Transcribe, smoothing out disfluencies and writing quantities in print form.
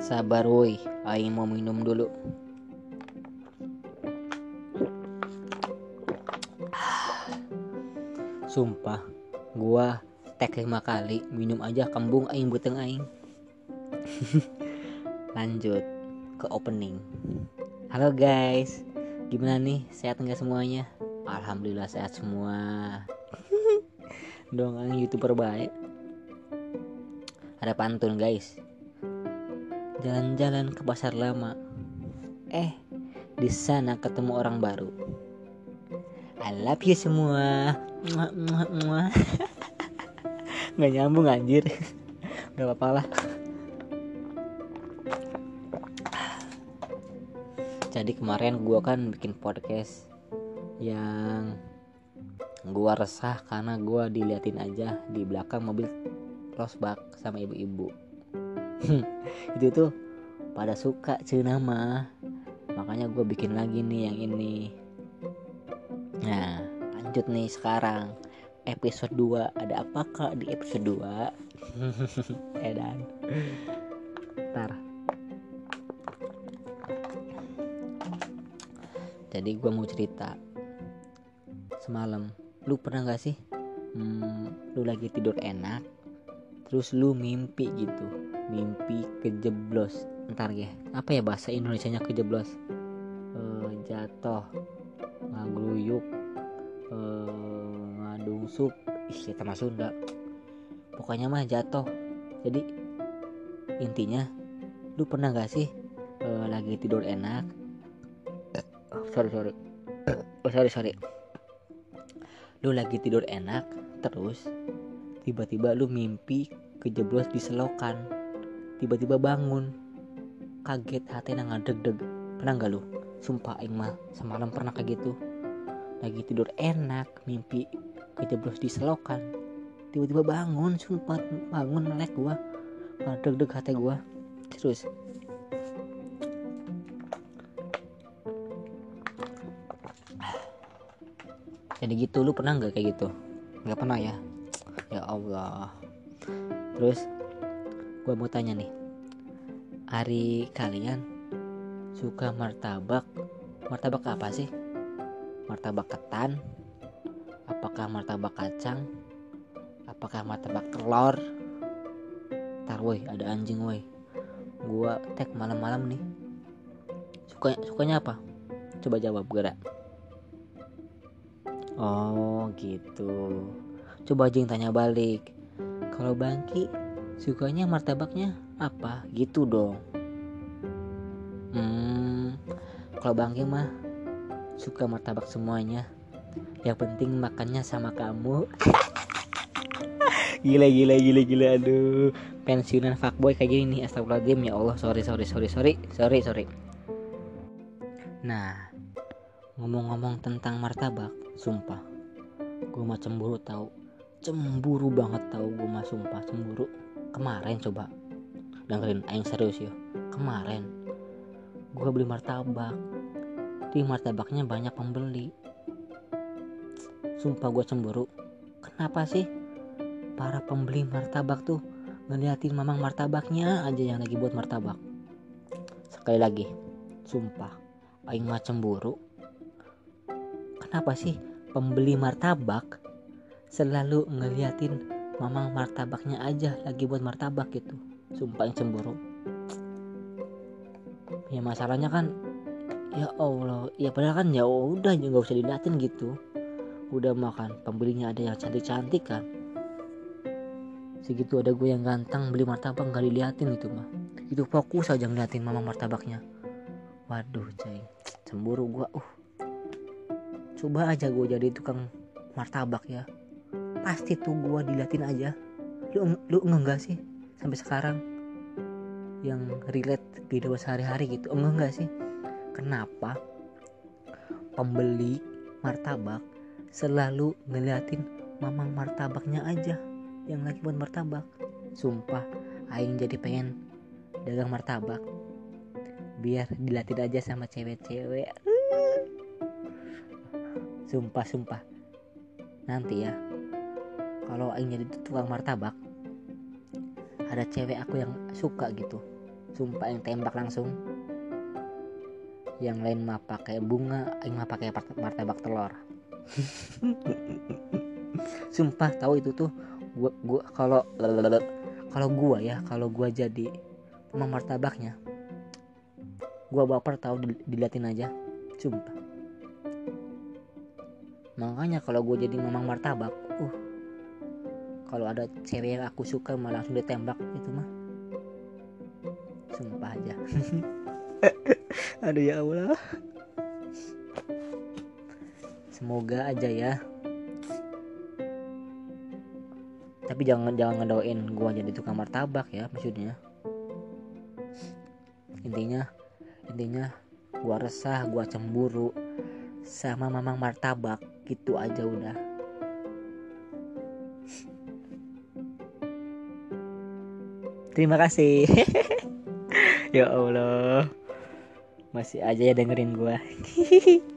Sabar woi, aing mau minum dulu. Sumpah, gua tek 5 kali minum aja kembung aing buteng aing. Lanjut ke opening. Halo guys, gimana nih? Sehat nggak semuanya? Alhamdulillah sehat semua. Dong aing YouTuber baik. Ada pantun guys. Jalan-jalan ke pasar lama. Di sana ketemu orang baru. I love you semua. Muah, muah, muah. Nggak nyambung anjir. Gak apa-apa lah. Jadi kemarin gue kan bikin podcast yang gue resah karena gue diliatin aja di belakang mobil Rosbak sama ibu-ibu. Itu tuh pada suka cenah mah. Makanya gue bikin lagi nih yang ini. Nah lanjut nih sekarang episode 2. Ada apakah di episode 2? Edan ntar. Jadi gue mau cerita. Semalam lu pernah gak sih lu lagi tidur enak, terus lu mimpi gitu, mimpi kejeblos. Ntar ya, apa ya bahasa Indonesianya kejeblos? Jatuh, ngagluyuk, ngadungsuk, kita mah Sunda. Pokoknya mah jatuh. Jadi intinya, lu pernah gak sih lagi tidur enak? Sorry. Lu lagi tidur enak, terus tiba-tiba lu mimpi kejeblos di selokan. Tiba-tiba bangun, kaget, hati ngadeg-deg. Pernah gak lu? Sumpah aing mah semalam pernah kayak gitu. Lagi tidur enak, mimpi kejeblos di selokan. Tiba-tiba bangun, sumpah bangun melek gua. Ngadeg-deg hati gua. Terus jadi gitu, lu pernah gak kayak gitu? Gak pernah ya? Ya Allah. Terus gua mau tanya nih, hari kalian suka martabak apa sih? Martabak ketan? Apakah martabak kacang? Apakah martabak telur? Ntar woi, ada anjing woi. Gua tag malam-malam nih. Sukanya apa? Coba jawab gerak. Oh gitu. Coba aja yang tanya balik. Kalau Bangki sukanya martabaknya apa? Gitu dong. Kalau Bangki mah suka martabak semuanya. Yang penting makannya sama kamu. Gila. Aduh, pensiunan fuckboy kayak gini nih. Astagfirullahaladzim, ya Allah. Sorry. Nah, ngomong-ngomong tentang martabak, sumpah gue mah cemburu tau. Cemburu banget tau, gue mah sumpah cemburu. Kemarin coba dengerin aing serius ya. Kemarin gue beli martabak, di martabaknya banyak pembeli. Sumpah gue cemburu. Kenapa sih para pembeli martabak tuh ngeliatin mamang martabaknya aja yang lagi buat martabak? Sekali lagi, sumpah aing mah cemburu. Kenapa sih pembeli martabak selalu ngeliatin mamang martabaknya aja lagi buat martabak gitu? Sumpah aing cemburu. Ya masalahnya kan, ya Allah, ya padahal kan ya udah nggak usah diliatin gitu. Udah makan pembelinya ada yang cantik-cantik kan. Segitu ada gue yang ganteng beli martabak nggak diliatin itu mah. Itu fokus aja ngeliatin mamang martabaknya. Waduh coy, cemburu gue. Coba aja gue jadi tukang martabak ya, pasti tuh gue diliatin aja. Lu enggak sih sampai sekarang yang relate kehidupan sehari-hari gitu? Enggak sih? Kenapa pembeli martabak selalu ngeliatin mamang martabaknya aja yang lagi buat martabak? Sumpah aing jadi pengen dagang martabak biar diliatin aja sama cewek-cewek. Sumpah nanti ya kalau aing jadi tukang martabak, ada cewek aku yang suka gitu Sumpah yang tembak langsung. Yang lain mah pakai bunga, aing mah pakai martabak telur. Sumpah tahu itu tuh gua kalau gua jadi mamang martabaknya, gua baper tahu diliatin aja. Sumpah. Makanya kalau gua jadi mamang martabak, kalau ada cewek yang aku suka malah langsung ditembak itu mah. Sumpah aja. Aduh ya Allah. Semoga aja ya. Tapi jangan ngedoain gua jadi tukang martabak ya, maksudnya. Intinya gua resah, gua cemburu sama mamang martabak, gitu aja udah. Terima kasih. Ya Allah. Masih aja ya dengerin gua.